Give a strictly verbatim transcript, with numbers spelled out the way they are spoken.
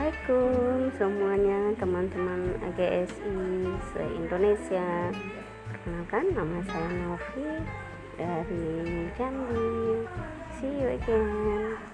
Assalamualaikum semuanya, teman-teman A G S I se-Indonesia. Perkenalkan, nama saya Novi dari Jambi. See you again.